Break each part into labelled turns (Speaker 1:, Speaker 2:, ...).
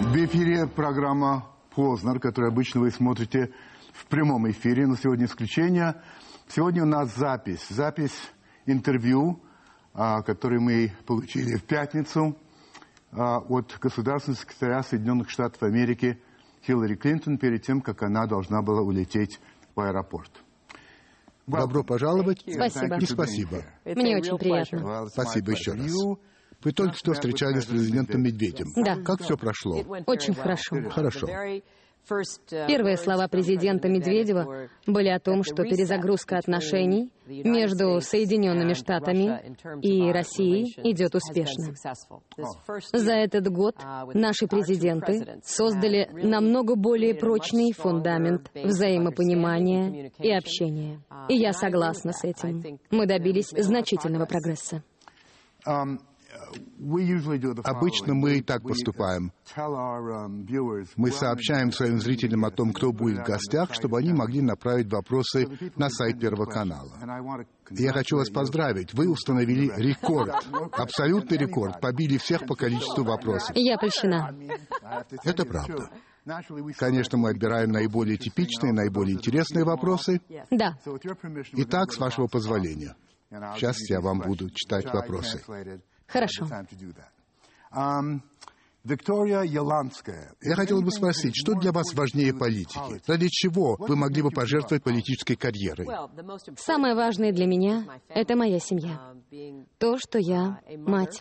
Speaker 1: В эфире программа «Познер», которую обычно вы смотрите в прямом эфире, но сегодня исключение. Сегодня у нас запись интервью, которое мы получили в пятницу от государственного секретаря Соединенных Штатов Америки Хиллари Клинтон перед тем, как она должна была улететь в аэропорт.
Speaker 2: Добро пожаловать.
Speaker 3: Спасибо.
Speaker 2: И спасибо.
Speaker 3: Мне очень приятно.
Speaker 2: Спасибо еще раз. Вы только что встречались с президентом Медведем.
Speaker 3: Да.
Speaker 2: Как все прошло?
Speaker 3: Очень хорошо.
Speaker 2: Хорошо.
Speaker 3: Первые слова президента Медведева были о том, что перезагрузка отношений между Соединенными Штатами и Россией идет успешно. За этот год наши президенты создали намного более прочный фундамент взаимопонимания и общения. И я согласна с этим. Мы добились значительного прогресса.
Speaker 2: Обычно мы и так поступаем. Мы сообщаем своим зрителям о том, кто будет в гостях, чтобы они могли направить вопросы на сайт Первого канала. Я хочу вас поздравить. Вы установили рекорд. Абсолютный рекорд. Побили всех по количеству вопросов.
Speaker 3: Я польщена.
Speaker 2: Это правда. Конечно, мы отбираем наиболее типичные, наиболее интересные вопросы.
Speaker 3: Да.
Speaker 2: Итак, с вашего позволения. Сейчас я вам буду читать вопросы.
Speaker 3: Хорошо.
Speaker 1: Виктория Яланская.
Speaker 2: Я хотел бы спросить, что для вас важнее политики? Ради чего вы могли бы пожертвовать политической карьерой?
Speaker 3: Самое важное для меня — это моя семья. То, что я мать.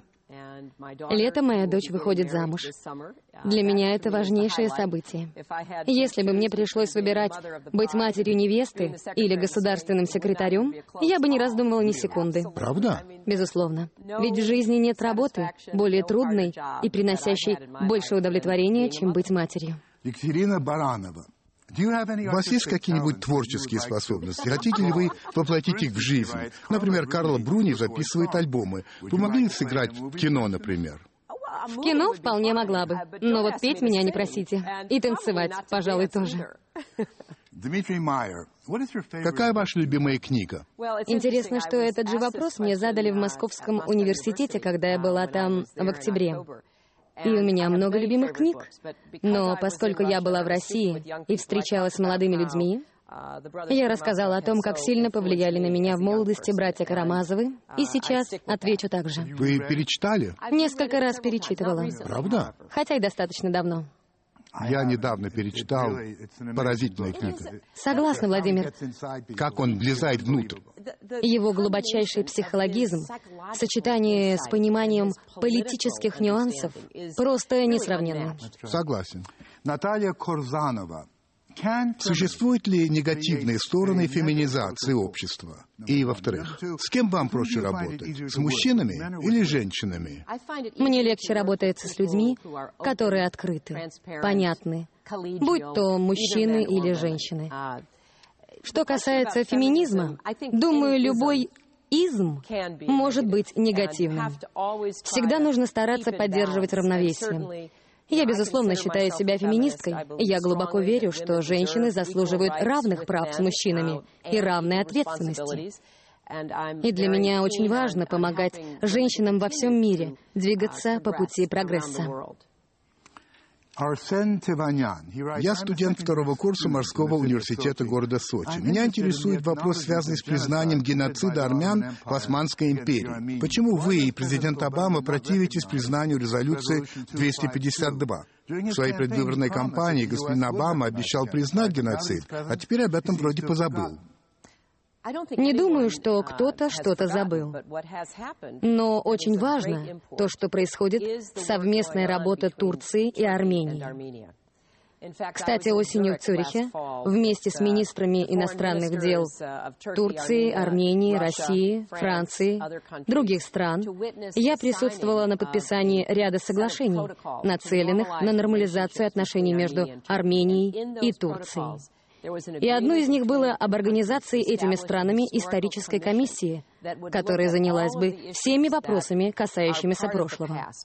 Speaker 3: Летом моя дочь выходит замуж. Для меня это важнейшее событие. Если бы мне пришлось выбирать быть матерью невесты или государственным секретарем, я бы не раздумывала ни секунды.
Speaker 2: Правда?
Speaker 3: Безусловно. Ведь в жизни нет работы более трудной и приносящей больше удовлетворения, чем быть матерью.
Speaker 1: Екатерина Баранова.
Speaker 2: У вас есть какие-нибудь творческие способности? Хотите ли вы воплотить их в жизнь? Например, Карла Бруни записывает альбомы. Вы могли сыграть в кино, например?
Speaker 3: В кино вполне могла бы. Но вот петь меня не просите. И танцевать, пожалуй, тоже.
Speaker 1: Дмитрий Майер.
Speaker 2: Какая ваша любимая книга?
Speaker 3: Интересно, что этот же вопрос мне задали в Московском университете, когда я была там в октябре. И у меня много любимых книг. Но поскольку я была в России и встречалась с молодыми людьми, я рассказала о том, как сильно повлияли на меня в молодости братья Карамазовы, и сейчас отвечу так же.
Speaker 2: Вы перечитали?
Speaker 3: Несколько раз перечитывала.
Speaker 2: Правда?
Speaker 3: Хотя и достаточно давно.
Speaker 2: Я недавно перечитал «Поразительная книга».
Speaker 3: Согласна, Владимир.
Speaker 2: Как он влезает внутрь.
Speaker 3: Его глубочайший психологизм в сочетании с пониманием политических нюансов просто несравненно.
Speaker 2: Согласен.
Speaker 1: Наталья Корзанова.
Speaker 2: Существуют ли негативные стороны феминизации общества? И, во-вторых, с кем вам проще работать? С мужчинами или женщинами?
Speaker 3: Мне легче работается с людьми, которые открыты, понятны, будь то мужчины или женщины. Что касается феминизма, думаю, любой изм может быть негативным. Всегда нужно стараться поддерживать равновесие. Я, безусловно, считаю себя феминисткой, и я глубоко верю, что женщины заслуживают равных прав с мужчинами и равной ответственности. И для меня очень важно помогать женщинам во всем мире двигаться по пути прогресса.
Speaker 1: Арсен Теванян.
Speaker 2: Я студент второго курса морского университета города Сочи. Меня интересует вопрос, связанный с признанием геноцида армян в Османской империи. Почему вы и президент Обама противитесь признанию резолюции 252? В своей предвыборной кампании господин Обама обещал признать геноцид, а теперь об этом вроде позабыл.
Speaker 3: Не думаю, что кто-то что-то забыл. Но очень важно то, что происходит совместная работа Турции и Армении. Кстати, осенью в Цюрихе вместе с министрами иностранных дел Турции, Армении, России, Франции, других стран я присутствовала на подписании ряда соглашений, нацеленных на нормализацию отношений между Арменией и Турцией. И одно из них было об организации этими странами исторической комиссии, которая занялась бы всеми вопросами, касающимися прошлого.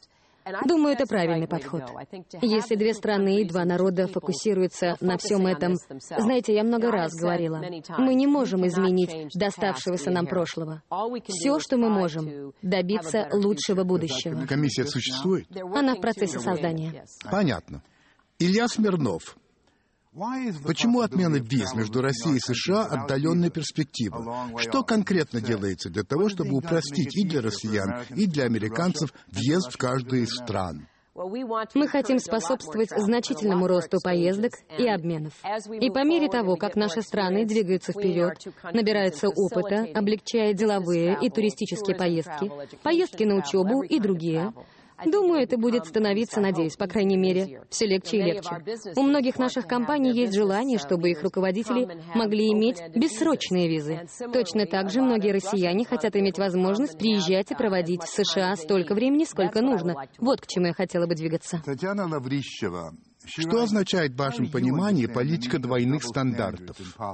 Speaker 3: Думаю, это правильный подход. Если две страны и два народа фокусируются на всем этом... Знаете, я много раз говорила, мы не можем изменить доставшегося нам прошлого. Все, что мы можем, добиться лучшего будущего.
Speaker 2: Комиссия существует?
Speaker 3: Она в процессе создания.
Speaker 2: Понятно. Илья Смирнов. Почему отмена виз между Россией и США отдаленная перспектива? Что конкретно делается для того, чтобы упростить и для россиян, и для американцев въезд в каждую из стран?
Speaker 3: Мы хотим способствовать значительному росту поездок и обменов. И по мере того, как наши страны двигаются вперед, набираются опыта, облегчая деловые и туристические поездки, поездки на учебу и другие, думаю, это будет становиться, надеюсь, по крайней мере, все легче и легче. У многих наших компаний есть желание, чтобы их руководители могли иметь бессрочные визы. Точно так же многие россияне хотят иметь возможность приезжать и проводить в США столько времени, сколько нужно. Вот к чему я хотела бы двигаться.
Speaker 1: Татьяна Лаврищева.
Speaker 2: Что означает в вашем понимании политика двойных стандартов?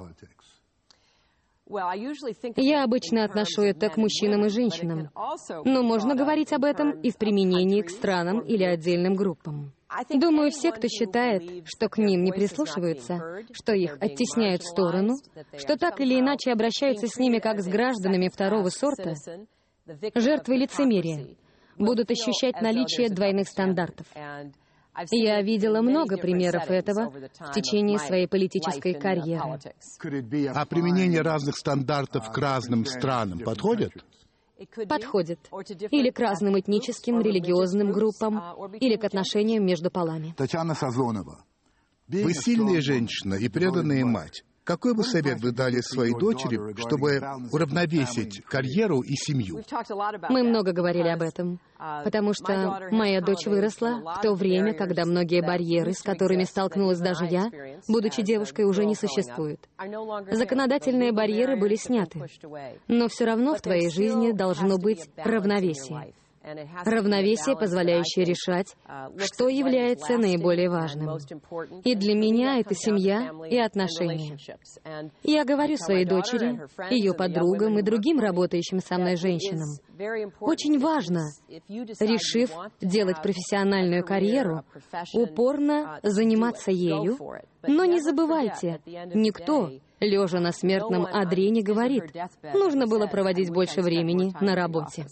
Speaker 3: Я обычно отношу это к мужчинам и женщинам, но можно говорить об этом и в применении к странам или отдельным группам. Думаю, все, кто считает, что к ним не прислушиваются, что их оттесняют в сторону, что так или иначе обращаются с ними как с гражданами второго сорта, жертвы лицемерия, будут ощущать наличие двойных стандартов. Я видела много примеров этого в течение своей политической карьеры.
Speaker 2: А применение разных стандартов к разным странам подходит?
Speaker 3: Подходит. Или к разным этническим, религиозным группам, или к отношениям между полами.
Speaker 1: Татьяна Сазонова.
Speaker 2: Вы сильная женщина и преданная мать. Какой бы совет вы дали своей дочери, чтобы уравновесить карьеру и семью?
Speaker 3: Мы много говорили об этом, потому что моя дочь выросла в то время, когда многие барьеры, с которыми столкнулась даже я, будучи девушкой, уже не существуют. Законодательные барьеры были сняты, но все равно в твоей жизни должно быть равновесие. Равновесие, позволяющее решать, что является наиболее важным. И для меня это семья и отношения. Я говорю своей дочери, ее подругам и другим работающим со мной женщинам, очень важно, решив делать профессиональную карьеру, упорно заниматься ею, но не забывайте, никто, лежа на смертном одре, не говорит, нужно было проводить больше времени на работе.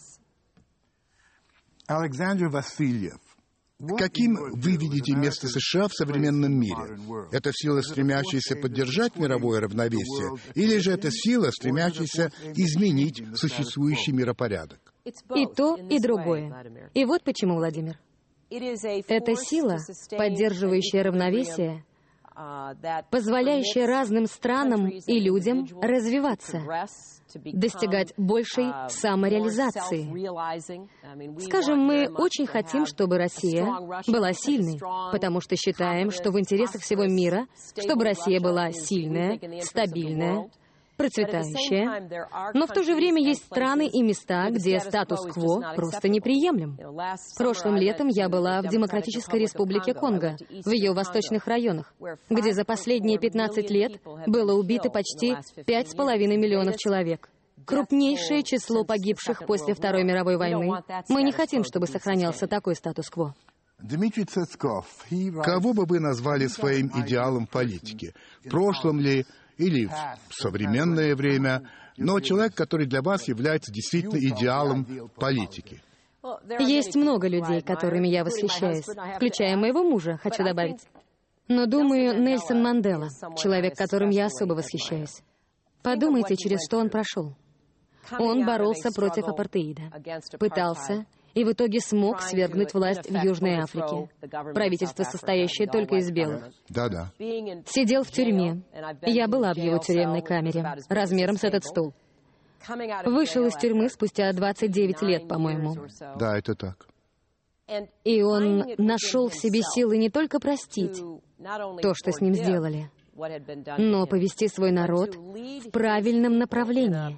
Speaker 1: Александр Васильев.
Speaker 2: Каким вы видите место США в современном мире? Это сила, стремящаяся поддержать мировое равновесие, или же это сила, стремящаяся изменить существующий миропорядок?
Speaker 3: И то, и другое. И вот почему, Владимир. Это сила, поддерживающая равновесие, позволяющая разным странам и людям развиваться, достигать большей самореализации. Скажем, мы очень хотим, чтобы Россия была сильной, потому что считаем, что в интересах всего мира, чтобы Россия была сильная, стабильная, процветающая. Но в то же время есть страны и места, где статус-кво просто неприемлем. Прошлым летом я была в Демократической Республике Конго, в ее восточных районах, где за последние 15 лет было убито почти 5,5 миллионов человек. Крупнейшее число погибших после Второй мировой войны. Мы не хотим, чтобы сохранялся такой статус-кво.
Speaker 1: Дмитрий Цецков.
Speaker 2: Кого бы вы назвали своим идеалом политики? В прошлом ли или в современное время, но человек, который для вас является действительно идеалом политики?
Speaker 3: Есть много людей, которыми я восхищаюсь, включая моего мужа, хочу добавить. Но, думаю, Нельсон Мандела, человек, которым я особо восхищаюсь. Подумайте, через что он прошел. Он боролся против апартеида, пытался и в итоге смог свергнуть власть в Южной Африке. Правительство, состоящее только из белых.
Speaker 2: Да-да.
Speaker 3: Сидел в тюрьме. Я была в его тюремной камере, размером с этот стул. Вышел из тюрьмы спустя 29 лет, по-моему.
Speaker 2: Да, это так.
Speaker 3: И он нашел в себе силы не только простить то, что с ним сделали, но повести свой народ в правильном направлении.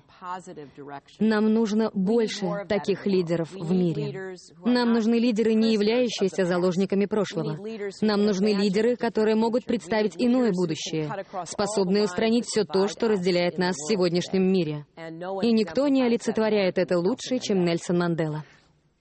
Speaker 3: Нам нужно больше таких лидеров в мире. Нам нужны лидеры, не являющиеся заложниками прошлого. Нам нужны лидеры, которые могут представить иное будущее, способные устранить все то, что разделяет нас в сегодняшнем мире. И никто не олицетворяет это лучше, чем Нельсон Мандела.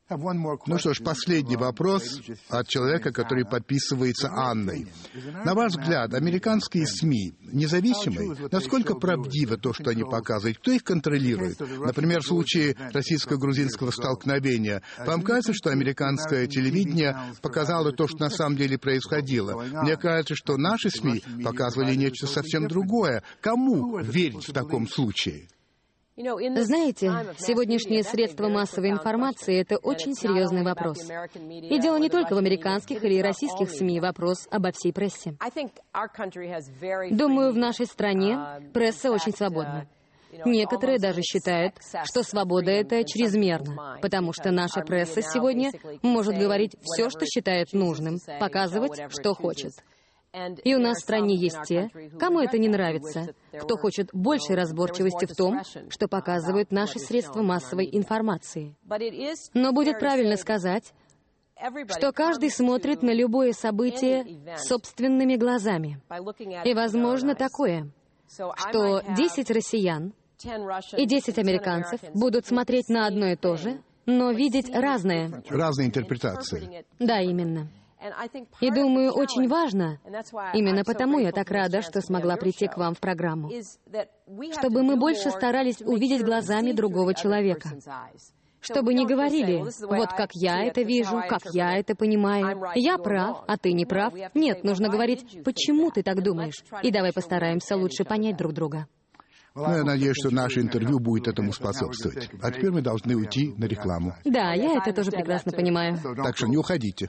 Speaker 2: Ну что ж, последний вопрос от человека, который подписывается Анной. На ваш взгляд, американские СМИ независимые? Насколько правдиво то, что они показывают? Кто их контролирует? Например, в случае российско-грузинского столкновения. Вам кажется, что американское телевидение показало то, что на самом деле происходило? Мне кажется, что наши СМИ показывали нечто совсем другое. Кому верить в таком случае?
Speaker 3: Знаете, сегодняшние средства массовой информации — это очень серьезный вопрос. И дело не только в американских или российских СМИ, вопрос обо всей прессе. Думаю, в нашей стране пресса очень свободна. Некоторые даже считают, что свобода — это чрезмерно, потому что наша пресса сегодня может говорить все, что считает нужным, показывать, что хочет. И у нас в стране есть те, кому это не нравится, кто хочет большей разборчивости в том, что показывают наши средства массовой информации. Но будет правильно сказать, что каждый смотрит на любое событие собственными глазами. И возможно такое, что 10 россиян и 10 американцев будут смотреть на одно и то же, но видеть разное.
Speaker 2: Разные интерпретации.
Speaker 3: Да, именно. И думаю, очень важно, именно потому я так рада, что смогла прийти к вам в программу, чтобы мы больше старались увидеть глазами другого человека. Чтобы не говорили, вот как я это вижу, как я это понимаю, я прав, а ты не прав. Нет, нужно говорить, почему ты так думаешь, и давай постараемся лучше понять друг друга.
Speaker 2: Ну, я надеюсь, что наше интервью будет этому способствовать. А теперь мы должны уйти на рекламу.
Speaker 3: Да, я это тоже прекрасно понимаю.
Speaker 2: Так что не уходите.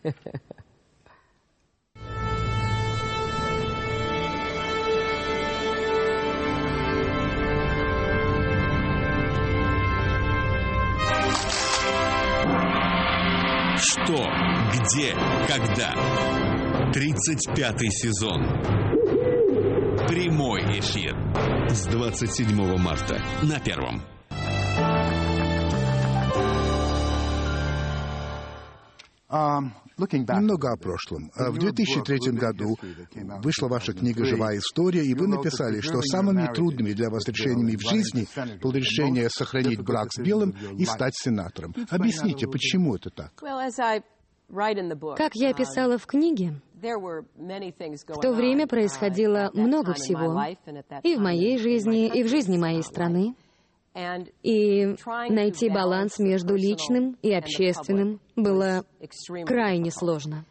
Speaker 4: Что, где, когда? 35-й сезон. Прямой эфир. С 27 марта на Первом.
Speaker 2: Немного о прошлом. В 2003 году вышла ваша книга «Живая история», и вы написали, что самыми трудными для вас решениями в жизни было решение сохранить брак с белым и стать сенатором. Объясните, почему это так?
Speaker 3: Как я писала в книге, в то время происходило много всего и в моей жизни, и в жизни моей страны. И найти баланс между личным и общественным было крайне сложно.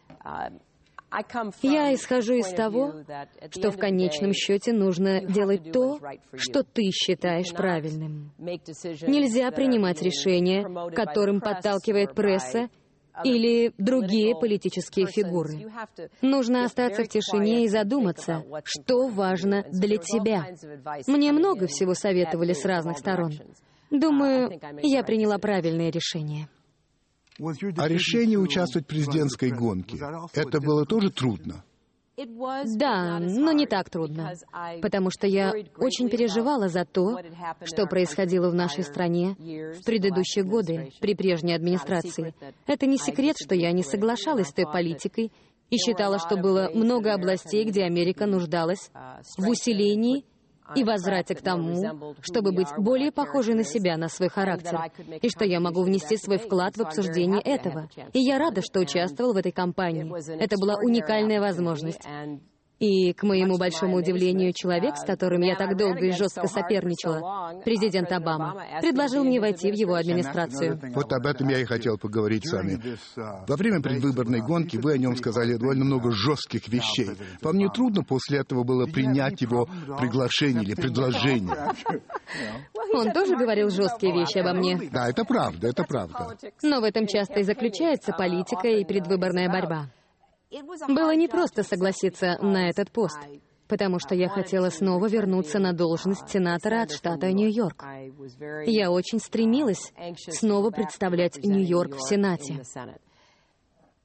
Speaker 3: Я исхожу из того, что в конечном счете нужно делать то, что ты считаешь правильным. Нельзя принимать решения, которым подталкивает пресса или другие политические фигуры. Нужно остаться в тишине и задуматься, что важно для тебя. Мне много всего советовали с разных сторон. Думаю, я приняла правильное решение.
Speaker 2: А решение участвовать в президентской гонке, это было тоже трудно?
Speaker 3: Да, но не так трудно, потому что я очень переживала за то, что происходило в нашей стране в предыдущие годы при прежней администрации. Это не секрет, что я не соглашалась с той политикой и считала, что было много областей, где Америка нуждалась в усилении и возврате к тому, чтобы быть более похожей на себя, на свой характер, и что я могу внести свой вклад в обсуждение этого. И я рада, что участвовал в этой кампании. Это была уникальная возможность. И, к моему большому удивлению, человек, с которым я так долго и жестко соперничала, президент Обама, предложил мне войти в его администрацию.
Speaker 2: Вот об этом я и хотел поговорить с вами. Во время предвыборной гонки вы о нем сказали довольно много жестких вещей. Вам не трудно после этого было принять его приглашение или предложение?
Speaker 3: Он тоже говорил жесткие вещи обо мне.
Speaker 2: Да, это правда, это правда.
Speaker 3: Но в этом часто и заключается политика и предвыборная борьба. Было непросто согласиться на этот пост, потому что я хотела снова вернуться на должность сенатора от штата Нью-Йорк. Я очень стремилась снова представлять Нью-Йорк в Сенате.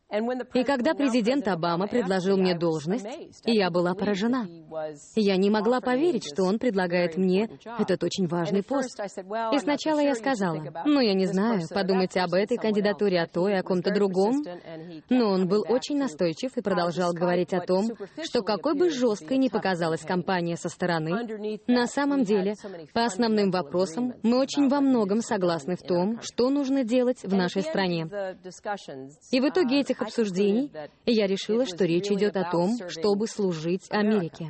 Speaker 3: И когда президент Обама предложил мне должность, я была поражена. Я не могла поверить, что он предлагает мне этот очень важный пост. И сначала я сказала, я не знаю, подумайте об этой кандидатуре, о той, о ком-то другом. Но он был очень настойчив и продолжал говорить о том, что какой бы жесткой ни показалась кампания со стороны, на самом деле, по основным вопросам, мы очень во многом согласны в том, что нужно делать в нашей стране. И в итоге этих обсуждений я решила, что речь идет о том, чтобы служить Америке.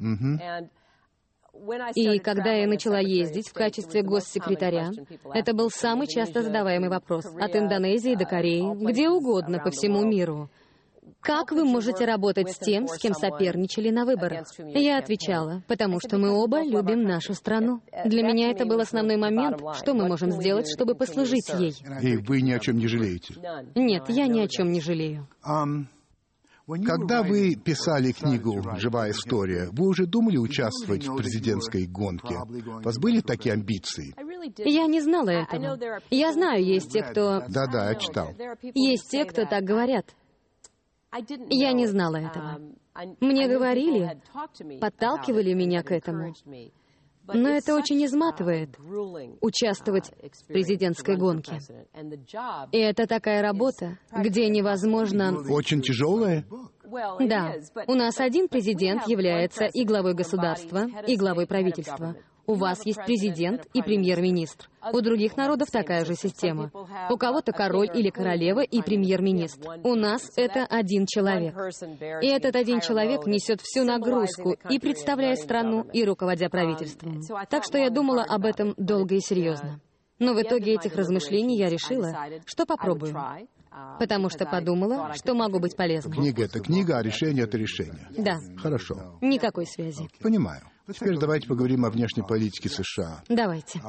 Speaker 3: И когда я начала ездить в качестве госсекретаря, это был самый часто задаваемый вопрос. От Индонезии до Кореи, где угодно по всему миру. Как вы можете работать с тем, с кем соперничали на выборах? Я отвечала, потому что мы оба любим нашу страну. Для меня это был основной момент, что мы можем сделать, чтобы послужить ей.
Speaker 2: И вы ни о чем не жалеете?
Speaker 3: Нет, я ни о чем не жалею.
Speaker 2: Когда вы писали книгу «Живая история», вы уже думали участвовать в президентской гонке? У вас были такие амбиции?
Speaker 3: Я не знала этого. Я знаю, есть те, кто...
Speaker 2: Да, я читал.
Speaker 3: Есть те, кто так говорят. Я не знала этого. Мне говорили, подталкивали меня к этому. Но это очень изматывает — участвовать в президентской гонке. И это такая работа, где невозможно...
Speaker 2: Очень тяжелая?
Speaker 3: Да. У нас один президент является и главой государства, и главой правительства. У вас есть президент и премьер-министр. У других народов такая же система. У кого-то король или королева и премьер-министр. У нас это один человек. И этот один человек несет всю нагрузку, и представляя страну, и руководя правительством. Так что я думала об этом долго и серьезно. Но в итоге этих размышлений я решила, что попробую. Потому что подумала, что могу быть полезной.
Speaker 2: Книга — это книга, а решение — это решение.
Speaker 3: Да.
Speaker 2: Хорошо.
Speaker 3: Никакой связи.
Speaker 2: Понимаю. Теперь давайте поговорим о внешней политике США.
Speaker 3: Давайте.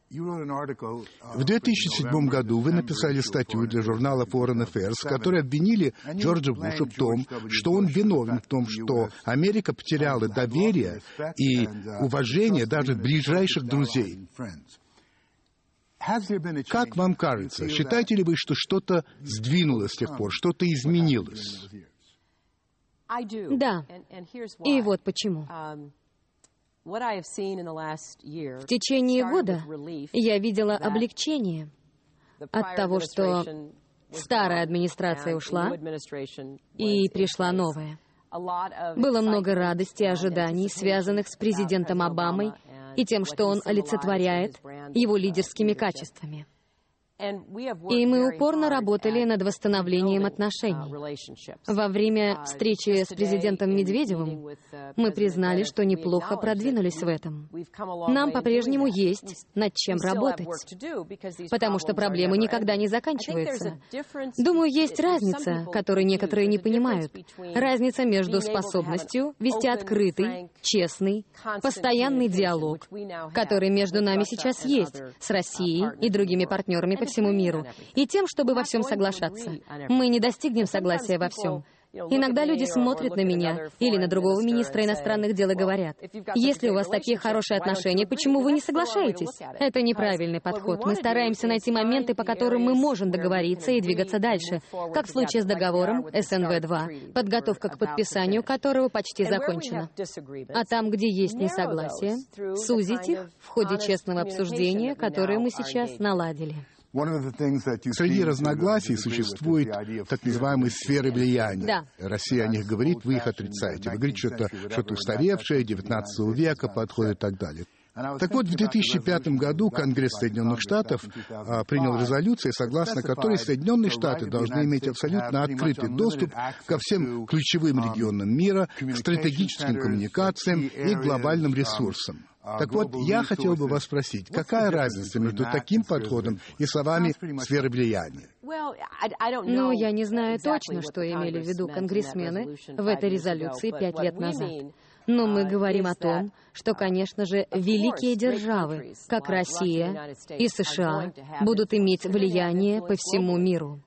Speaker 2: В 2007 году вы написали статью для журнала Foreign Affairs, в которой обвинили Джорджа Буша в том, что он виновен в том, что Америка потеряла доверие и уважение даже ближайших друзей. Как вам кажется, считаете ли вы, что что-то сдвинулось с тех пор, что-то изменилось?
Speaker 3: Да. И вот почему. В течение года я видела облегчение от того, что старая администрация ушла, и пришла новая. Было много радости и ожиданий, связанных с президентом Обамой и тем, что он олицетворяет его лидерскими качествами. И мы упорно работали над восстановлением отношений. Во время встречи с президентом Медведевым мы признали, что неплохо продвинулись в этом. Нам по-прежнему есть над чем работать, потому что проблемы никогда не заканчиваются. Думаю, есть разница, которую некоторые не понимают. Разница между способностью вести открытый, честный, постоянный диалог, который между нами сейчас есть, с Россией и другими партнерами по всему миру, и тем, чтобы во всем соглашаться. Мы не достигнем согласия во всем. Иногда люди смотрят на меня или на другого министра иностранных дел и говорят: если у вас такие хорошие отношения, почему вы не соглашаетесь? Это неправильный подход. Мы стараемся найти моменты, по которым мы можем договориться и двигаться дальше, как в случае с договором СНВ-2, подготовка к подписанию которого почти закончена. А там, где есть несогласие, сузить их в ходе честного обсуждения, которое мы сейчас наладили.
Speaker 2: Среди разногласий существует так называемые сферы влияния.
Speaker 3: Да.
Speaker 2: Россия о них говорит, вы их отрицаете. Вы говорите, что это что-то устаревшее, 19 века подходит и так далее. Так вот, в 2005 году Конгресс Соединенных Штатов принял резолюцию, согласно которой Соединенные Штаты должны иметь абсолютно открытый доступ ко всем ключевым регионам мира, к стратегическим коммуникациям и глобальным ресурсам. Так вот, я хотел бы вас спросить, какая разница между таким подходом и словами «сферы влияния»?
Speaker 3: Ну, я не знаю точно, что имели в виду конгрессмены в этой резолюции 5 лет назад. Но мы говорим о том, что, конечно же, великие державы, как Россия и США, будут иметь влияние по всему миру.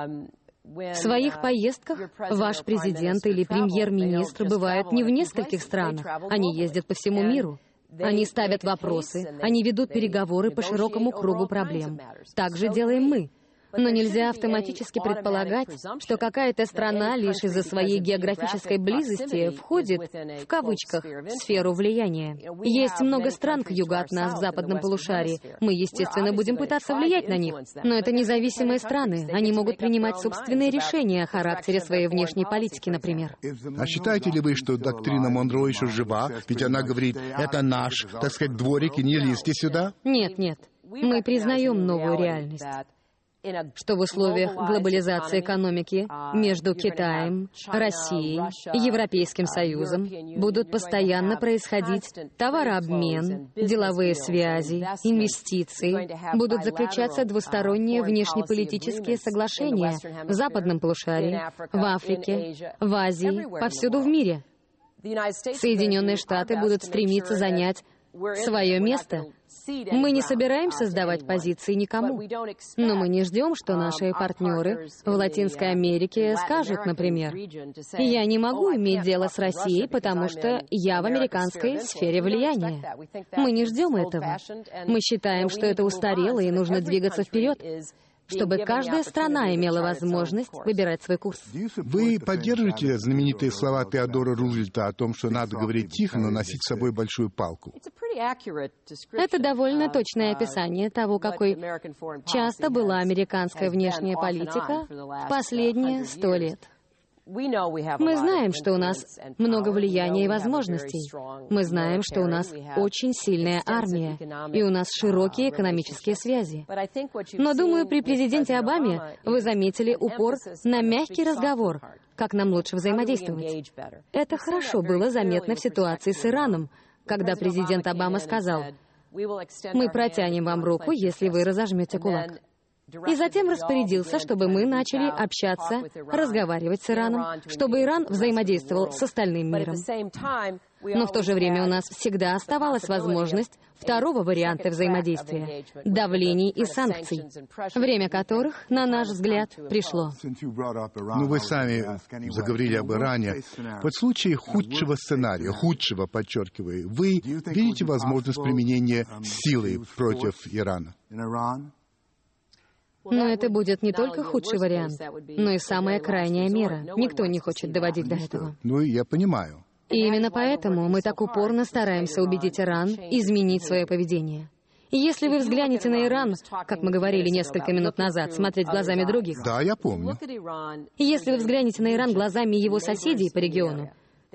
Speaker 3: В своих поездках ваш президент или премьер-министр бывают не в нескольких странах, они ездят по всему миру. Они ставят вопросы, они ведут переговоры по широкому кругу проблем. Так же делаем мы. Но нельзя автоматически предполагать, что какая-то страна лишь из-за своей географической близости входит, в кавычках, в сферу влияния. Есть много стран к югу от нас в западном полушарии. Мы, естественно, будем пытаться влиять на них. Но это независимые страны. Они могут принимать собственные решения о характере своей внешней политики, например.
Speaker 2: А считаете ли вы, что доктрина Монро еще жива? Ведь она говорит, это наш, так сказать, дворик, и не лезьте сюда?
Speaker 3: Нет, нет. Мы признаем новую реальность, что в условиях глобализации экономики между Китаем, Россией и Европейским Союзом будут постоянно происходить товарообмен, деловые связи, инвестиции, будут заключаться двусторонние внешнеполитические соглашения в западном полушарии, в Африке, в Азии, повсюду в мире. Соединенные Штаты будут стремиться занять свое место. Мы не собираемся сдавать позиции никому, но мы не ждем, что наши партнеры в Латинской Америке скажут, например, «Я не могу иметь дело с Россией, потому что я в американской сфере влияния». Мы не ждем этого. Мы считаем, что это устарело и нужно двигаться вперед, чтобы каждая страна имела возможность выбирать свой курс.
Speaker 2: Вы поддерживаете знаменитые слова Теодора Рузвельта о том, что надо говорить тихо, но носить с собой большую палку?
Speaker 3: Это довольно точное описание того, какой часто была американская внешняя политика в последние 100 лет. Мы знаем, что у нас много влияния и возможностей. Мы знаем, что у нас очень сильная армия, и у нас широкие экономические связи. Но, думаю, при президенте Обаме вы заметили упор на мягкий разговор, как нам лучше взаимодействовать. Это хорошо было заметно в ситуации с Ираном, когда президент Обама сказал: «Мы протянем вам руку, если вы разожмете кулак». И затем распорядился, чтобы мы начали общаться, разговаривать с Ираном, чтобы Иран взаимодействовал с остальным миром. Но в то же время у нас всегда оставалась возможность второго варианта взаимодействия — давлений и санкций, время которых, на наш взгляд, пришло.
Speaker 2: Ну, вы сами заговорили об Иране. Вот в случае худшего сценария, худшего, подчеркиваю, вы видите возможность применения силы против Ирана?
Speaker 3: Но это будет не только худший вариант, но и самая крайняя мера. Никто не хочет доводить до этого.
Speaker 2: Ну, я понимаю.
Speaker 3: И именно поэтому мы так упорно стараемся убедить Иран изменить свое поведение. И если вы взглянете на Иран, как мы говорили несколько минут назад, смотреть глазами других.
Speaker 2: Да, я помню.
Speaker 3: И если вы взглянете на Иран глазами его соседей по региону,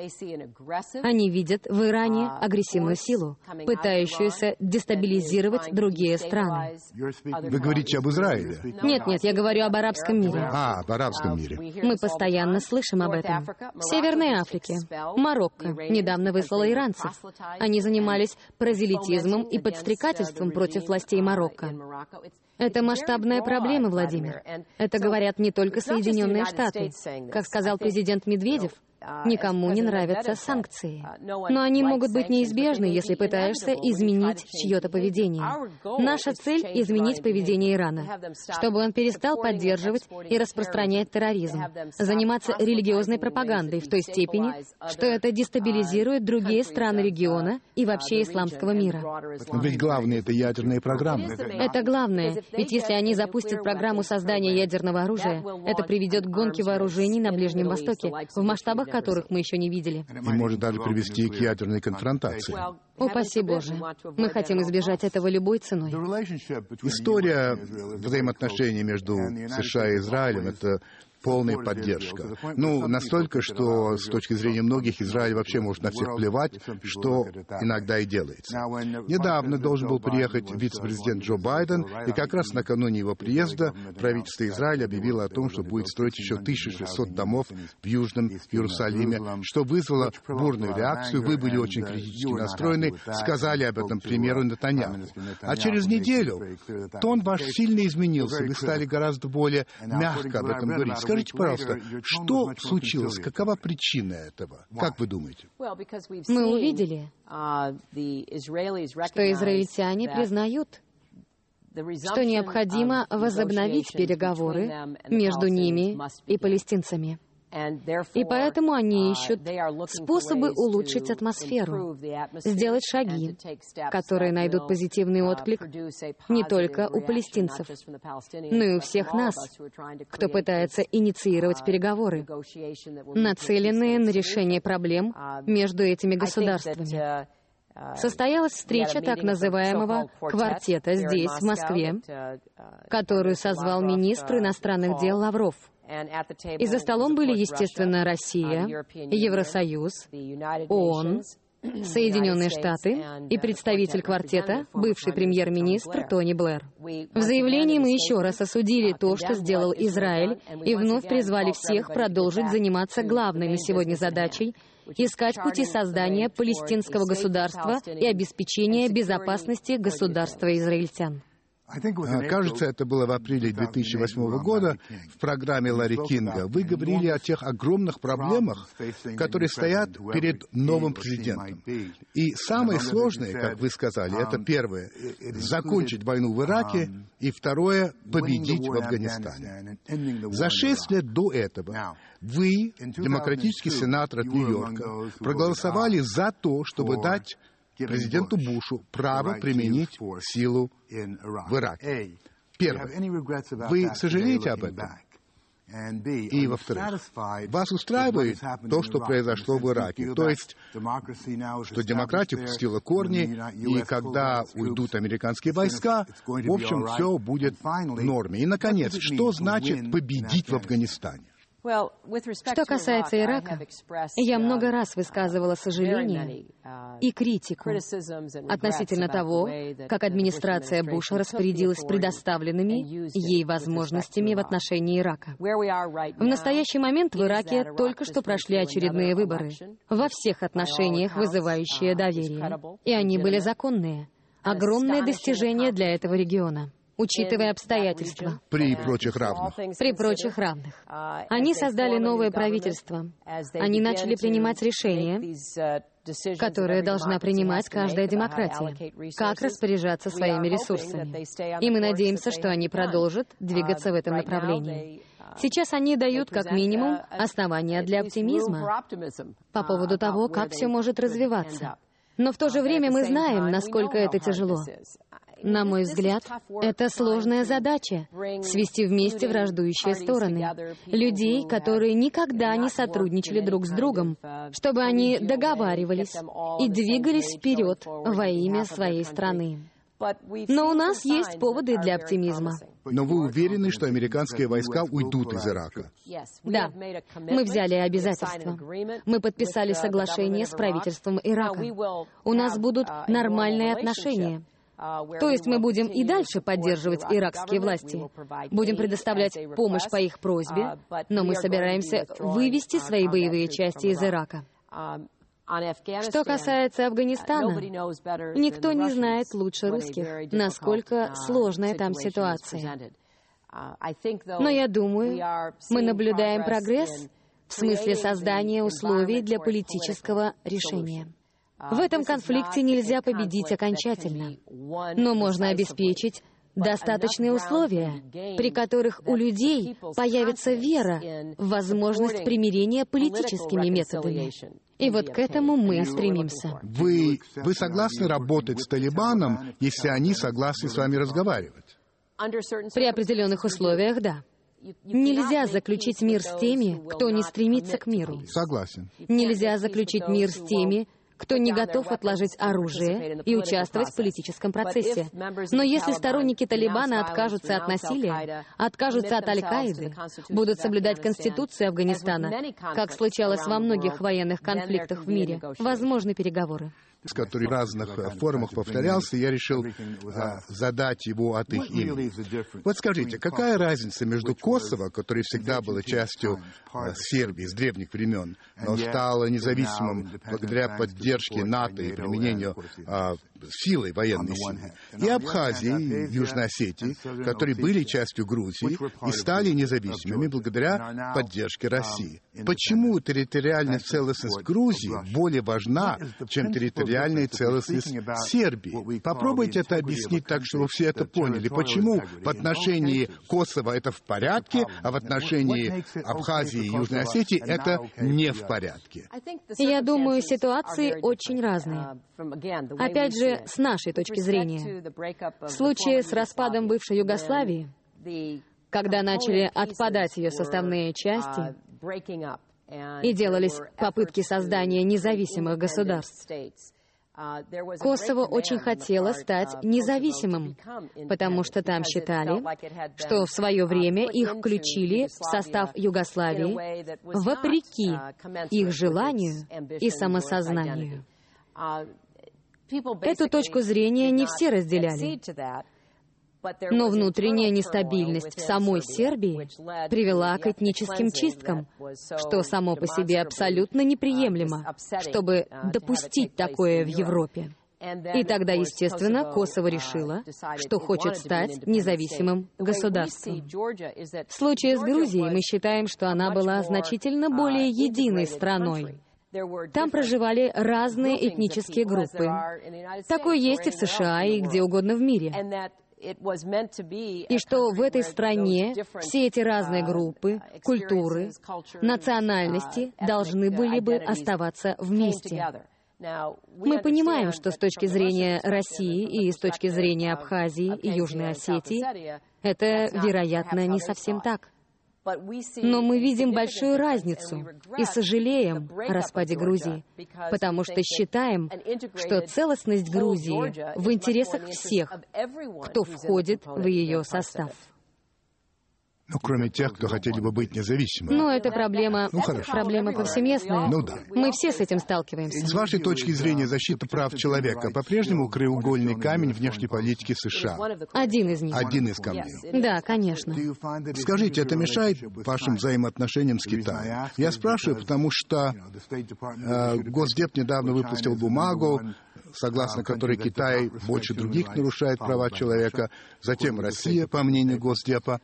Speaker 3: они видят в Иране агрессивную силу, пытающуюся дестабилизировать другие страны.
Speaker 2: Вы говорите об Израиле?
Speaker 3: Нет, я говорю об арабском мире.
Speaker 2: Об арабском мире.
Speaker 3: Мы постоянно слышим об этом. В Северной Африке Марокко недавно выслала иранцев. Они занимались прозелитизмом и подстрекательством против властей Марокко. Это масштабная проблема, Владимир. Это говорят не только Соединенные Штаты. Как сказал президент Медведев, никому не нравятся санкции. Но они могут быть неизбежны, если пытаешься изменить чье-то поведение. Наша цель — изменить поведение Ирана, чтобы он перестал поддерживать и распространять терроризм, заниматься религиозной пропагандой в той степени, что это дестабилизирует другие страны региона и вообще исламского мира.
Speaker 2: Но ведь главное — это ядерные программы.
Speaker 3: Это главное, ведь если они запустят программу создания ядерного оружия, это приведет к гонке вооружений на Ближнем Востоке в масштабах, которых мы еще не видели.
Speaker 2: И может даже привести к ядерной конфронтации.
Speaker 3: Упаси Боже. Мы хотим избежать этого любой ценой.
Speaker 2: История взаимоотношений между США и Израилем — это полная поддержка. Ну, настолько, что с точки зрения многих Израиль вообще может на всех плевать, что иногда и делается. Недавно должен был приехать вице-президент Джо Байден, и как раз накануне его приезда правительство Израиля объявило о том, что будет строить еще 1600 домов в Южном Иерусалиме, что вызвало бурную реакцию. Вы были очень критически настроены, сказали об этом премьеру Нетаньяху. А через неделю тон ваш сильно изменился, вы стали гораздо более мягко об этом говорить. Скажите, пожалуйста, что случилось? Какова причина этого? Как вы думаете?
Speaker 3: Мы увидели, что израильтяне признают, что необходимо возобновить переговоры между ними и палестинцами. И поэтому они ищут способы улучшить атмосферу, сделать шаги, которые найдут позитивный отклик не только у палестинцев, но и у всех нас, кто пытается инициировать переговоры, нацеленные на решение проблем между этими государствами. Состоялась встреча так называемого «квартета» здесь, в Москве, которую созвал министр иностранных дел Лавров. И за столом были, естественно, Россия, Евросоюз, ООН, Соединенные Штаты и представитель квартета, бывший премьер-министр Тони Блэр. В заявлении мы еще раз осудили то, что сделал Израиль, и вновь призвали всех продолжить заниматься главной на сегодня задачей — искать пути создания палестинского государства и обеспечения безопасности государства израильтян.
Speaker 2: Кажется, это было в апреле 2008 года в программе Ларри Кинга. Вы говорили о тех огромных проблемах, которые стоят перед новым президентом. И самое сложное, как вы сказали, это первое — закончить войну в Ираке, и второе — победить в Афганистане. За 6 лет до этого вы, демократический сенатор от Нью-Йорка, проголосовали за то, чтобы дать президенту Бушу право применить силу в Ираке. Первое. Вы сожалеете об этом? И, во-вторых, вас устраивает то, что произошло в Ираке? То есть, что демократия пустила корни, и когда уйдут американские войска, в общем, все будет в норме. И, наконец, что значит победить в Афганистане?
Speaker 3: Что касается Ирака, я много раз высказывала сожаление и критику относительно того, как администрация Буша распорядилась предоставленными ей возможностями в отношении Ирака. В настоящий момент в Ираке только что прошли очередные выборы, во всех отношениях вызывающие доверие, и они были законные. Огромное достижение для этого региона, учитывая обстоятельства.
Speaker 2: При прочих равных.
Speaker 3: При прочих равных. Они создали новое правительство. Они начали принимать решения, которые должна принимать каждая демократия, как распоряжаться своими ресурсами. И мы надеемся, что они продолжат двигаться в этом направлении. Сейчас они дают, как минимум, основания для оптимизма по поводу того, как все может развиваться. Но в то же время мы знаем, насколько это тяжело. На мой взгляд, это сложная задача — свести вместе враждующие стороны, людей, которые никогда не сотрудничали друг с другом, чтобы они договаривались и двигались вперед во имя своей страны. Но у нас есть поводы для оптимизма.
Speaker 2: Но вы уверены, что американские войска уйдут из Ирака?
Speaker 3: Да. Мы взяли обязательства. Мы подписали соглашение с правительством Ирака. У нас будут нормальные отношения. То есть мы будем и дальше поддерживать иракские власти, будем предоставлять помощь по их просьбе, но мы собираемся вывести свои боевые части из Ирака. Что касается Афганистана, никто не знает лучше русских, насколько сложная там ситуация. Но я думаю, мы наблюдаем прогресс в смысле создания условий для политического решения. В этом конфликте нельзя победить окончательно, но можно обеспечить достаточные условия, при которых у людей появится вера в возможность примирения политическими методами. И вот к этому мы и стремимся.
Speaker 2: Вы согласны работать с Талибаном, если они согласны с вами разговаривать?
Speaker 3: При определенных условиях, да. Нельзя заключить мир с теми, кто не стремится к миру.
Speaker 2: Согласен.
Speaker 3: Нельзя заключить мир с теми, кто не готов отложить оружие и участвовать в политическом процессе. Но если сторонники Талибана откажутся от насилия, откажутся от Аль-Каиды, будут соблюдать Конституцию Афганистана, как случалось во многих военных конфликтах в мире, возможны переговоры.
Speaker 2: Который в разных форумах повторялся, я решил задать его от их имени. Вот скажите, какая разница между Косово, которое всегда было частью Сербии с древних времен, но стало независимым благодаря поддержке НАТО и применению силой, военной силой, и Абхазии, и Южной Осетии, которые были частью Грузии и стали независимыми благодаря поддержке России. Почему территориальная целостность Грузии более важна, чем территориальная целостность Сербии? Попробуйте это объяснить так, чтобы все это поняли. Почему в отношении Косово это в порядке, а в отношении Абхазии и Южной Осетии это не в порядке?
Speaker 3: Я думаю, ситуации очень разные. Опять же, с нашей точки зрения. В случае с распадом бывшей Югославии, когда начали отпадать ее составные части и делались попытки создания независимых государств, Косово очень хотело стать независимым, потому что там считали, что в свое время их включили в состав Югославии вопреки их желанию и самосознанию. Эту точку зрения не все разделяли. Но внутренняя нестабильность в самой Сербии привела к этническим чисткам, что само по себе абсолютно неприемлемо, чтобы допустить такое в Европе. И тогда, естественно, Косово решило, что хочет стать независимым государством. В случае с Грузией мы считаем, что она была значительно более единой страной. Там проживали разные этнические группы. Такое есть и в США, и где угодно в мире. И что в этой стране все эти разные группы, культуры, национальности должны были бы оставаться вместе. Мы понимаем, что с точки зрения России и с точки зрения Абхазии и Южной Осетии это, вероятно, не совсем так. Но мы видим большую разницу и сожалеем о распаде Грузии, потому что считаем, что целостность Грузии в интересах всех, кто входит в ее состав.
Speaker 2: Ну, кроме тех, кто хотели бы быть независимыми.
Speaker 3: Ну, это проблема, проблема повсеместная.
Speaker 2: Ну да.
Speaker 3: Мы все с этим сталкиваемся.
Speaker 2: С вашей точки зрения, защита прав человека по-прежнему краеугольный камень внешней политики США?
Speaker 3: Один из них.
Speaker 2: Один из камней.
Speaker 3: Да, конечно.
Speaker 2: Скажите, это мешает вашим взаимоотношениям с Китаем? Я спрашиваю, потому что Госдеп недавно выпустил бумагу, согласно которой Китай больше других нарушает права человека, затем Россия, по мнению Госдепа.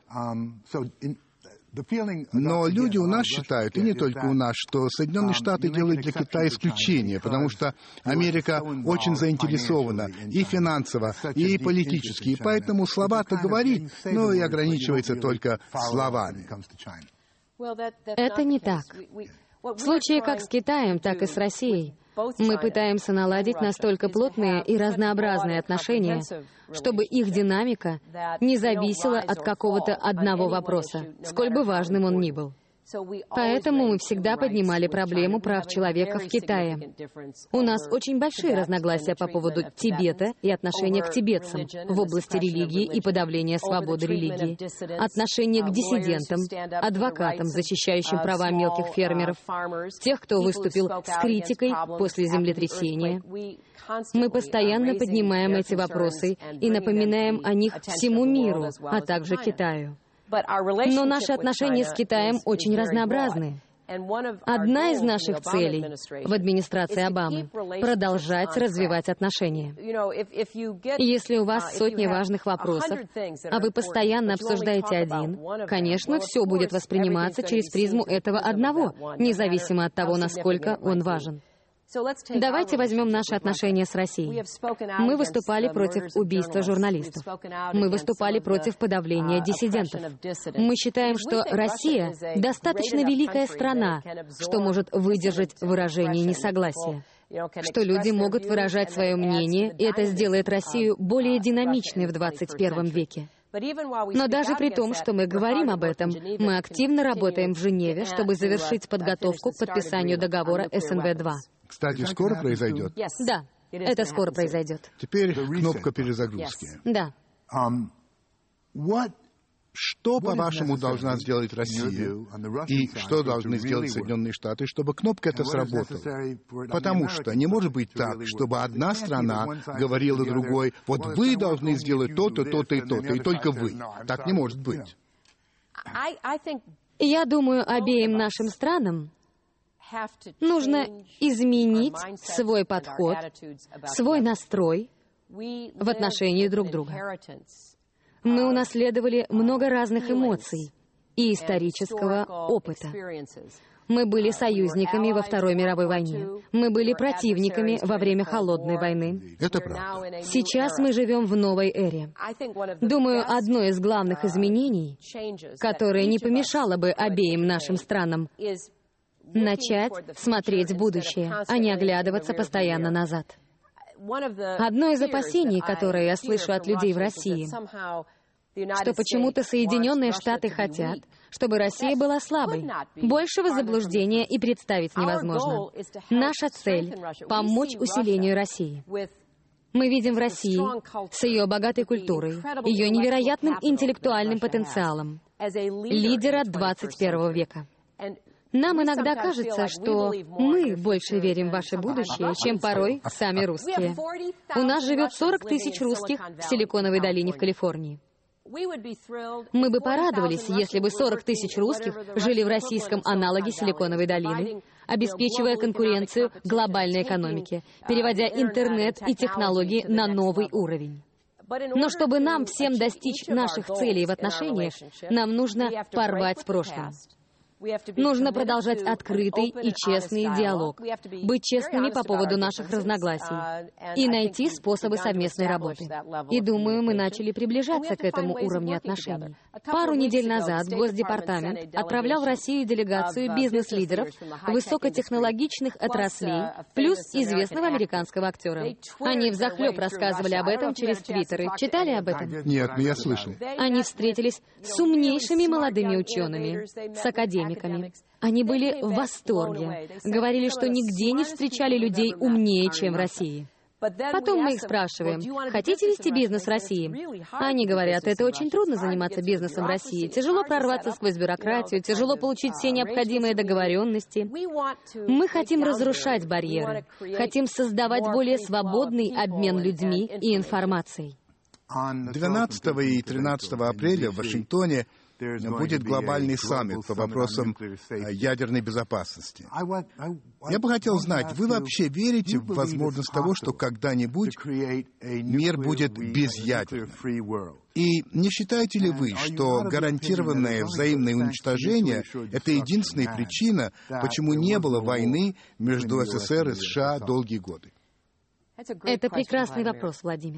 Speaker 2: Но люди у нас считают, и не только у нас, что Соединенные Штаты делают для Китая исключение, потому что Америка очень заинтересована и финансово, и политически, и поэтому слова-то говорит, но и ограничивается только словами.
Speaker 3: Это не так. В случае как с Китаем, так и с Россией. Мы пытаемся наладить настолько плотные и разнообразные отношения, чтобы их динамика не зависела от какого-то одного вопроса, сколь бы важным он ни был. Поэтому мы всегда поднимали проблему прав человека в Китае. У нас очень большие разногласия по поводу Тибета и отношения к тибетцам в области религии и подавления свободы религии, отношения к диссидентам, адвокатам, защищающим права мелких фермеров, тех, кто выступил с критикой после землетрясения. Мы постоянно поднимаем эти вопросы и напоминаем о них всему миру, а также Китаю. Но наши отношения с Китаем очень разнообразны. Одна из наших целей в администрации Обамы — продолжать развивать отношения. Если у вас сотни важных вопросов, а вы постоянно обсуждаете один, конечно, все будет восприниматься через призму этого одного, независимо от того, насколько он важен. Давайте возьмем наши отношения с Россией. Мы выступали против убийства журналистов. Мы выступали против подавления диссидентов. Мы считаем, что Россия достаточно великая страна, что может выдержать выражение несогласия, что люди могут выражать свое мнение, и это сделает Россию более динамичной в 21 веке. Но даже при том, что мы говорим об этом, мы активно работаем в Женеве, чтобы завершить подготовку к подписанию договора СНВ-2.
Speaker 2: Кстати, скоро произойдет?
Speaker 3: Да, это скоро произойдет.
Speaker 2: Теперь кнопка перезагрузки.
Speaker 3: Да.
Speaker 2: Что, по-вашему, должна сделать Россия и что должны сделать Соединенные Штаты, чтобы кнопка эта сработала? Потому что не может быть так, чтобы одна страна говорила другой: вот вы должны сделать то-то, то-то и то-то, и только вы. Так не может быть.
Speaker 3: Я думаю, обеим нашим странам нужно изменить свой подход, свой настрой в отношении друг друга. Мы унаследовали много разных эмоций и исторического опыта. Мы были союзниками во Второй мировой войне. Мы были противниками во время Холодной войны.
Speaker 2: Это правда.
Speaker 3: Сейчас мы живем в новой эре. Думаю, одно из главных изменений, которое не помешало бы обеим нашим странам, начать смотреть в будущее, а не оглядываться постоянно назад. Одно из опасений, которое я слышу от людей в России, что почему-то Соединенные Штаты хотят, чтобы Россия была слабой. Большего заблуждения и представить невозможно. Наша цель — помочь усилению России. Мы видим в России, с ее богатой культурой, ее невероятным интеллектуальным потенциалом, лидера 21 века. Нам иногда кажется, что мы больше верим в ваше будущее, чем порой сами русские. У нас живет 40 тысяч русских в Силиконовой долине в Калифорнии. Мы бы порадовались, если бы 40 тысяч русских жили в российском аналоге Силиконовой долины, обеспечивая конкуренцию глобальной экономике, переводя интернет и технологии на новый уровень. Но чтобы нам всем достичь наших целей в отношениях, нам нужно порвать с прошлым. Нужно продолжать открытый и честный диалог, быть честными по поводу наших разногласий и найти способы совместной работы. И думаю, мы начали приближаться к этому уровню отношений. Пару недель назад Госдепартамент отправлял в Россию делегацию бизнес-лидеров высокотехнологичных отраслей плюс известного американского актера. Они взахлеб рассказывали об этом через твиттеры. Читали об этом?
Speaker 2: Нет, но я слышал.
Speaker 3: Они встретились с умнейшими молодыми учеными, с академиками. Они были в восторге. Говорили, что нигде не встречали людей умнее, чем в России. Потом мы их спрашиваем, хотите вести бизнес в России? Они говорят, это очень трудно заниматься бизнесом в России. Тяжело прорваться сквозь бюрократию, тяжело получить все необходимые договоренности. Мы хотим разрушать барьеры, хотим создавать более свободный обмен людьми и информацией.
Speaker 2: 12 и 13 апреля в Вашингтоне будет глобальный саммит по вопросам ядерной безопасности. Я бы хотел знать, вы вообще верите в возможность того, что когда-нибудь мир будет безъядерным? И не считаете ли вы, что гарантированное взаимное уничтожение — это единственная причина, почему не было войны между СССР и США долгие годы?
Speaker 3: Это прекрасный вопрос, Владимир.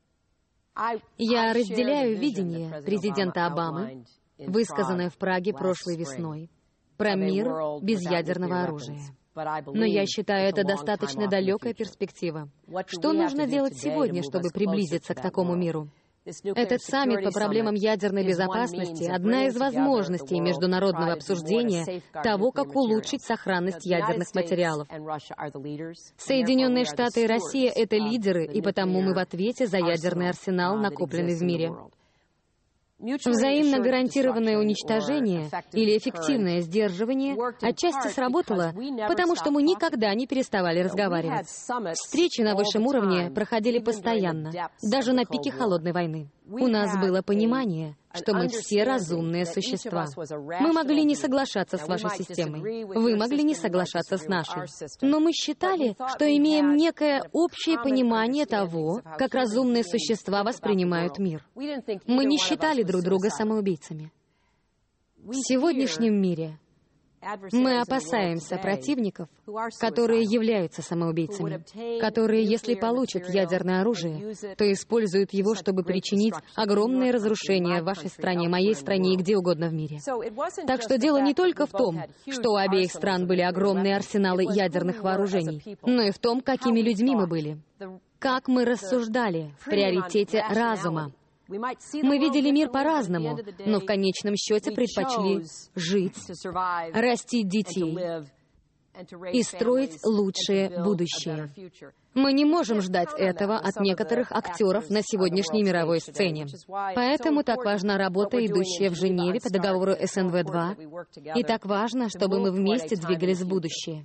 Speaker 3: Я разделяю видение президента Обамы, высказанное в Праге прошлой весной, про мир без ядерного оружия. Но я считаю, это достаточно далекая перспектива. Что нужно делать сегодня, чтобы приблизиться к такому миру? Этот саммит по проблемам ядерной безопасности — одна из возможностей международного обсуждения того, как улучшить сохранность ядерных материалов. Соединенные Штаты и Россия — это лидеры, и потому мы в ответе за ядерный арсенал, накопленный в мире. Взаимно гарантированное уничтожение или эффективное сдерживание отчасти сработало, потому что мы никогда не переставали разговаривать. Встречи на высшем уровне проходили постоянно, даже на пике Холодной войны. У нас было понимание, что мы все разумные существа. Мы могли не соглашаться с вашей системой, вы могли не соглашаться с нашей. Но мы считали, что имеем некое общее понимание того, как разумные существа воспринимают мир. Мы не считали друг друга самоубийцами. В сегодняшнем мире мы опасаемся противников, которые являются самоубийцами, которые, если получат ядерное оружие, то используют его, чтобы причинить огромные разрушения в вашей стране, моей стране и где угодно в мире. Так что дело не только в том, что у обеих стран были огромные арсеналы ядерных вооружений, но и в том, какими людьми мы были, как мы рассуждали в приоритете разума. Мы видели мир по-разному, но в конечном счете предпочли жить, растить детей и строить лучшее будущее. Мы не можем ждать этого от некоторых актеров на сегодняшней мировой сцене. Поэтому так важна работа, идущая в Женеве по договору СНВ-2, и так важно, чтобы мы вместе двигались в будущее.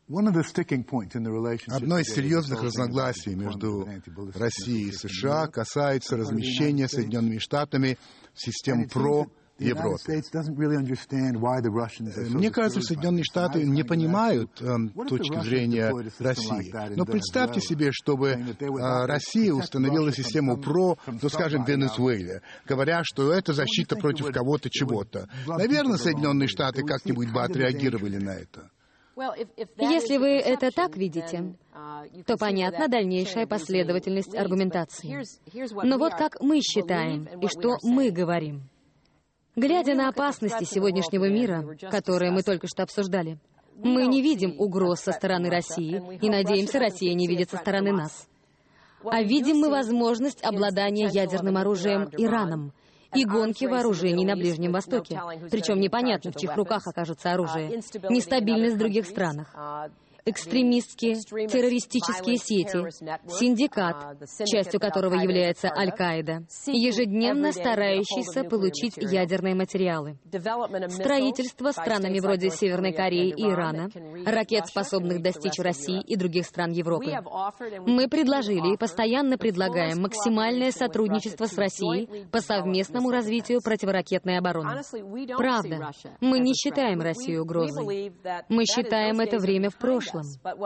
Speaker 2: Одно из серьезных разногласий между Россией и США касается размещения Соединенными Штатами систем ПРО Европе. Мне кажется, Соединенные Штаты не понимают точки зрения России. Но представьте себе, чтобы Россия установила систему ПРО, ну, скажем, в Венесуэле, говоря, что это защита против кого-то чего-то. Наверное, Соединенные Штаты как-нибудь бы отреагировали на это.
Speaker 3: Если вы это так видите, то понятна дальнейшая последовательность аргументации. Но вот как мы считаем и что мы говорим. Глядя на опасности сегодняшнего мира, которые мы только что обсуждали, мы не видим угроз со стороны России и, надеемся, Россия не видит со стороны нас. А видим мы возможность обладания ядерным оружием Ираном и гонки вооружений на Ближнем Востоке. Причем непонятно, в чьих руках окажется оружие. Нестабильность в других странах. Экстремистские, террористические сети, синдикат, частью которого является Аль-Каида, ежедневно старающийся получить ядерные материалы, строительство странами вроде Северной Кореи и Ирана, ракет, способных достичь России и других стран Европы. Мы предложили и постоянно предлагаем максимальное сотрудничество с Россией по совместному развитию противоракетной обороны. Правда, мы не считаем Россию угрозой. Мы считаем это время в прошлом.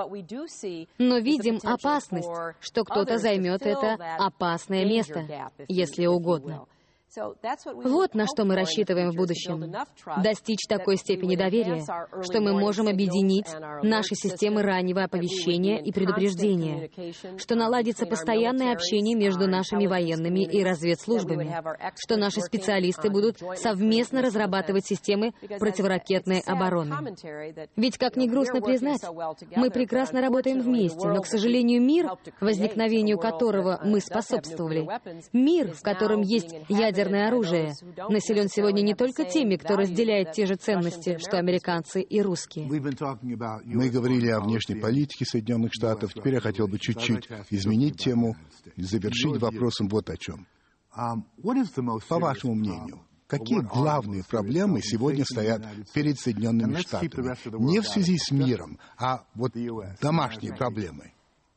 Speaker 3: Но видим опасность, что кто-то займет это опасное место, если угодно. Вот на что мы рассчитываем в будущем. Достичь такой степени доверия, что мы можем объединить наши системы раннего оповещения и предупреждения, что наладится постоянное общение между нашими военными и разведслужбами, что наши специалисты будут совместно разрабатывать системы противоракетной обороны. Ведь, как ни грустно признать, мы прекрасно работаем вместе, но, к сожалению, мир, возникновению которого мы способствовали, мир, в котором есть ядерное оружие, населен сегодня не только теми, кто разделяет те же ценности, что американцы и русские.
Speaker 2: Мы говорили о внешней политике Соединенных Штатов. Теперь я хотел бы чуть-чуть изменить тему и завершить вопросом вот о чем. По вашему мнению, какие главные проблемы сегодня стоят перед Соединенными Штатами? Не в связи с миром, а вот домашние проблемы.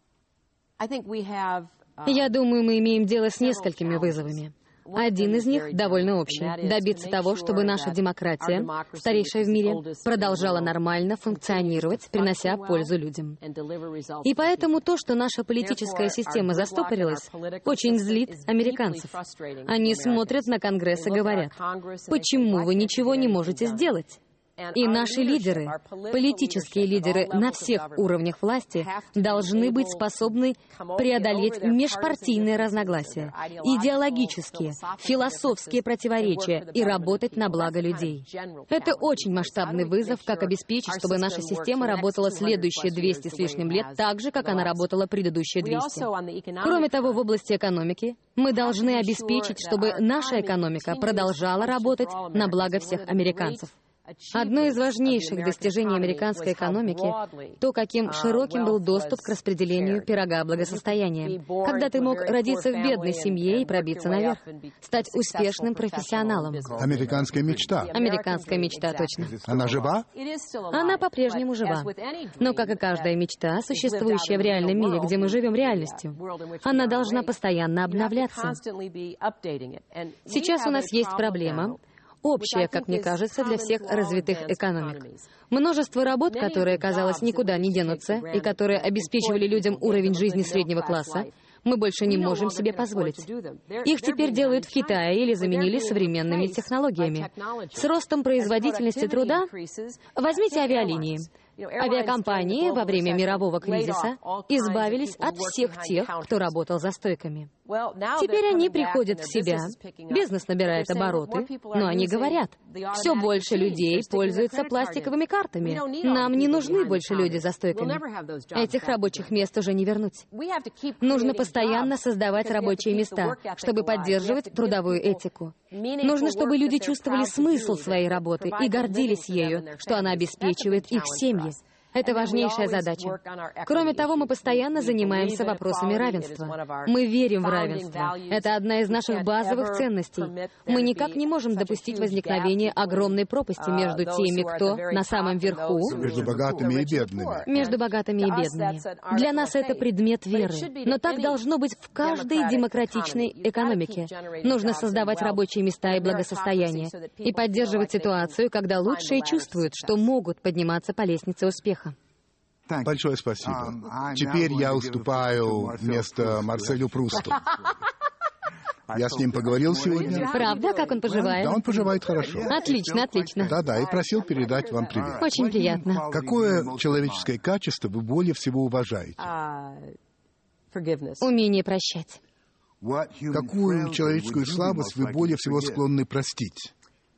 Speaker 3: Я думаю, мы имеем дело с несколькими вызовами. Один из них довольно общий — добиться того, чтобы наша демократия, старейшая в мире, продолжала нормально функционировать, принося пользу людям. И поэтому то, что наша политическая система застопорилась, очень злит американцев. Они смотрят на Конгресс и говорят: «Почему вы ничего не можете сделать?» И наши лидеры, политические лидеры на всех уровнях власти, должны быть способны преодолеть межпартийные разногласия, идеологические, философские противоречия и работать на благо людей. Это очень масштабный вызов, как обеспечить, чтобы наша система работала следующие 200 с лишним лет так же, как она работала предыдущие 200. Кроме того, в области экономики мы должны обеспечить, чтобы наша экономика продолжала работать на благо всех американцев. Одно из важнейших достижений американской экономики — то, каким широким был доступ к распределению пирога благосостояния. Когда ты мог родиться в бедной семье и пробиться наверх, стать успешным профессионалом.
Speaker 2: Американская мечта.
Speaker 3: Американская мечта, точно.
Speaker 2: Она жива?
Speaker 3: Она по-прежнему жива. Но, как и каждая мечта, существующая в реальном мире, где мы живем реальностью, она должна постоянно обновляться. Сейчас у нас есть проблема, общая, как мне кажется, для всех развитых экономик. Множество работ, которые, казалось, никуда не денутся, и которые обеспечивали людям уровень жизни среднего класса, мы больше не можем себе позволить. Их теперь делают в Китае или заменили современными технологиями. С ростом производительности труда возьмите авиалинии. Авиакомпании во время мирового кризиса избавились от всех тех, кто работал за стойками. Теперь они приходят в себя, бизнес набирает обороты, но они говорят: все больше людей пользуются пластиковыми картами. Нам не нужны больше люди за стойками. Этих рабочих мест уже не вернуть. Нужно постоянно создавать рабочие места, чтобы поддерживать трудовую этику. Нужно, чтобы люди чувствовали смысл своей работы и гордились ею, что она обеспечивает их семьи. Это важнейшая задача. Кроме того, мы постоянно занимаемся вопросами равенства. Мы верим в равенство. Это одна из наших базовых ценностей. Мы никак не можем допустить возникновения огромной пропасти между теми, кто на самом верху,
Speaker 2: между богатыми и бедными.
Speaker 3: между богатыми и бедными. Для нас это предмет веры. Но так должно быть в каждой демократичной экономике. Нужно создавать рабочие места и благосостояние и поддерживать ситуацию, когда лучшие чувствуют, что могут подниматься по лестнице успеха.
Speaker 2: Большое спасибо. Теперь я уступаю место Марселю Прусту. Я с ним поговорил сегодня.
Speaker 3: Правда? Как он поживает?
Speaker 2: Да, он поживает хорошо.
Speaker 3: Отлично, отлично.
Speaker 2: Да, и просил передать вам привет.
Speaker 3: Очень приятно.
Speaker 2: Какое человеческое качество вы более всего уважаете?
Speaker 3: Умение прощать.
Speaker 2: Какую человеческую слабость вы более всего склонны простить?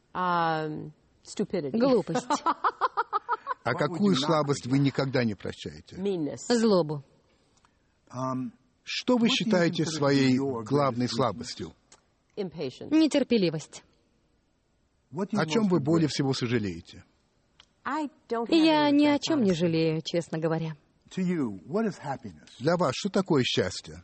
Speaker 3: Глупость.
Speaker 2: А какую слабость вы никогда не прощаете?
Speaker 3: Злобу.
Speaker 2: Что вы считаете своей главной слабостью?
Speaker 3: Нетерпеливость.
Speaker 2: О чем вы более всего сожалеете?
Speaker 3: Я ни о чем не жалею, честно говоря.
Speaker 2: Для вас что такое счастье?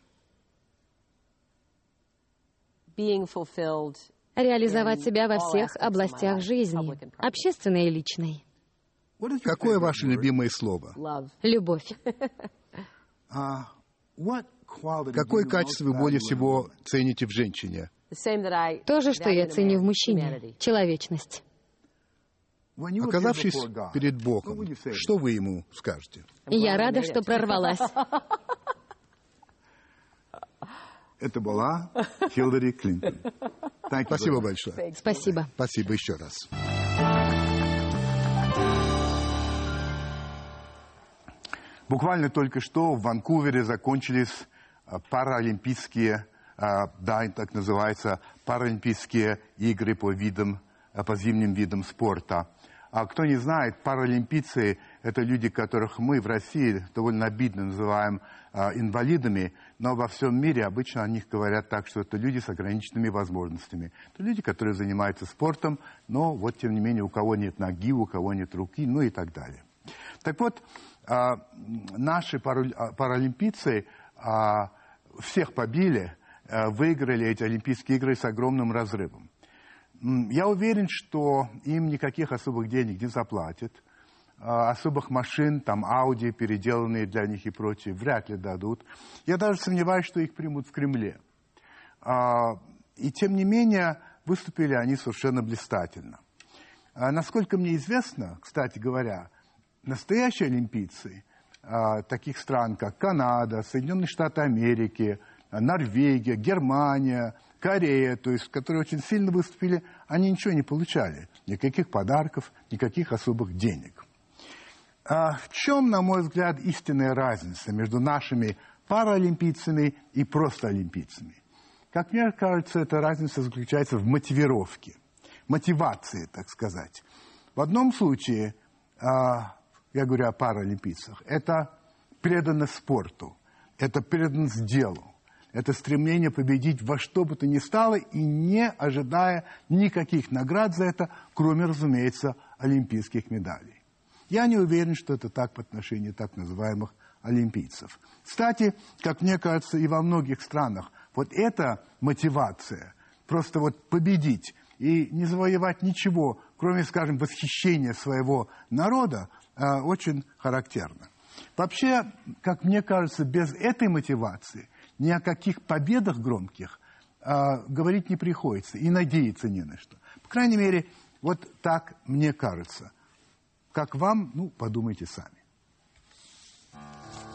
Speaker 3: Реализовать себя во всех областях жизни, общественной и личной.
Speaker 2: Какое ваше любимое слово?
Speaker 3: Любовь.
Speaker 2: Какое качество вы более всего цените в женщине?
Speaker 3: То же, что я ценю в мужчине. Человечность.
Speaker 2: Оказавшись перед Богом, что вы ему скажете?
Speaker 3: Я рада, что прорвалась.
Speaker 1: Это была Хиллари Клинтон.
Speaker 2: Спасибо большое.
Speaker 3: Спасибо.
Speaker 2: Спасибо еще раз.
Speaker 1: Буквально только что в Ванкувере закончились паралимпийские, так называется, паралимпийские игры по зимним видам спорта. А кто не знает, паралимпийцы – это люди, которых мы в России довольно обидно называем инвалидами, но во всем мире обычно о них говорят так, что это люди с ограниченными возможностями. Это люди, которые занимаются спортом, но вот тем не менее у кого нет ноги, у кого нет руки, ну и так далее. Так вот, наши паралимпийцы всех побили, выиграли эти Олимпийские игры с огромным разрывом. Я уверен, что им никаких особых денег не заплатят, особых машин, там, Ауди, переделанные для них и прочее, вряд ли дадут. Я даже сомневаюсь, что их примут в Кремле. И тем не менее, выступили они совершенно блистательно. Насколько мне известно, кстати говоря, настоящие олимпийцы таких стран, как Канада, Соединенные Штаты Америки, Норвегия, Германия, Корея, то есть, которые очень сильно выступили, они ничего не получали. Никаких подарков, никаких особых денег. В чем, на мой взгляд, истинная разница между нашими паралимпийцами и просто олимпийцами? Как мне кажется, эта разница заключается в мотивировке, мотивации, так сказать. В одном случае, я говорю о паралимпийцах, это преданность спорту, это преданность делу. Это стремление победить во что бы то ни стало и не ожидая никаких наград за это, кроме, разумеется, олимпийских медалей. Я не уверен, что это так по отношению так называемых олимпийцев. Кстати, как мне кажется, и во многих странах вот эта мотивация, просто вот победить и не завоевать ничего, кроме, скажем, восхищения своего народа, очень характерна. Вообще, как мне кажется, без этой мотивации ни о каких победах громких говорить не приходится и надеяться не на что. По крайней мере, вот так мне кажется. Как вам, подумайте сами.